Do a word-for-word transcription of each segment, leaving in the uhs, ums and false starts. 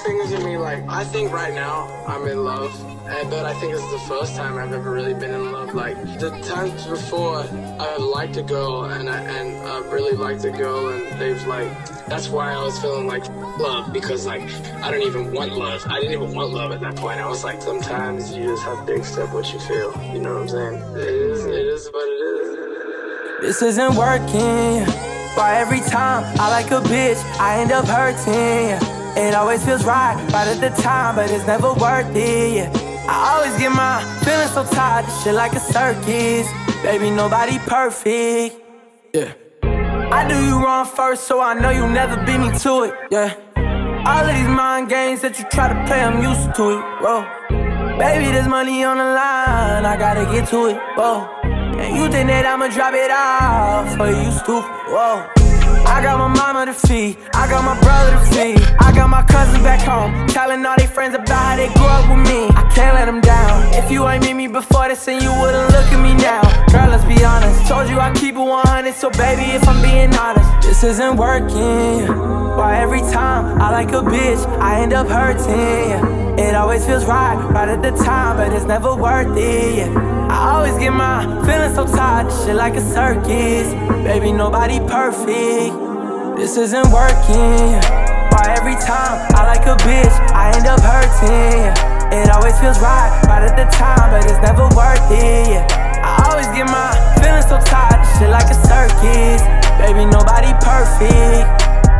things in me, like, I think right now I'm in love, and, but I think this is the first time I've ever really been in love. Like, the times before, I liked a girl, and I, and I really liked a girl, and they've, like, that's why I was feeling like love, because, like, I don't even want love. I didn't even want love at that point. I was like, sometimes you just have to accept what you feel. You know what I'm saying? It is, it is what it is. This isn't working. Why every time I like a bitch, I end up hurting? It always feels right, right at the time, but it's never worth it. I always get my feelings so tired, this shit like a circus. Baby, nobody perfect. Yeah. I do you wrong first, so I know you'll never beat me to it. Yeah. All of these mind games that you try to play, I'm used to it. Whoa. Baby, there's money on the line, I gotta get to it. Whoa. And you think that I'ma drop it off for you, stupid? Whoa. I got my mama to feed, I got my brother to feed, I got my cousins back home, telling all their friends about how they grew up with me. I can't let them down. If you ain't meet me before this, then you wouldn't look at me now. Girl, let's be honest, told you I keep it one hundred, so baby, if I'm being honest, this isn't working. Why every time I like a bitch, I end up hurting? It always feels right, right at the time, but it's never worth it. I always get my feelings so tired, this shit like a circus. Baby, nobody perfect. This isn't working. Why every time I like a bitch, I end up hurting? It always feels right, right at the time, but it's never worth it. I always get my feelings so tired, this shit like a circus. Baby, nobody perfect.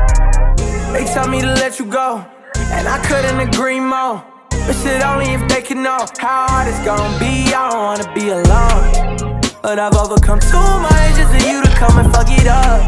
They tell me to let you go, and I couldn't agree more. But shit, only if they can know how hard it's gonna be. I don't wanna be alone, but I've overcome too much just for you to come and fuck it up.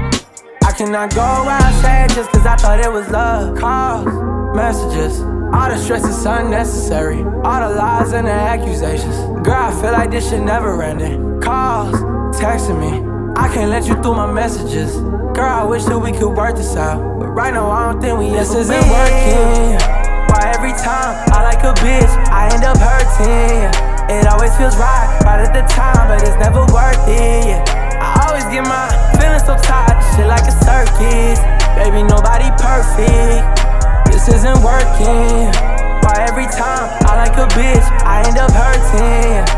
I cannot go around sad just cause I thought it was love. Calls, messages, all the stress is unnecessary. All the lies and the accusations. Girl, I feel like this shit never ended. Calls, texting me, I can't let you through my messages. Girl, I wish that we could work this out, but right now I don't think we this ever isn't win. Working. Why every time I like a bitch, I end up hurting? It always feels right, right at the time, but it's never worth it. I always get my feelings so tired, this shit like a circus. Baby, nobody perfect. This isn't working. Why every time I like a bitch, I end up hurting?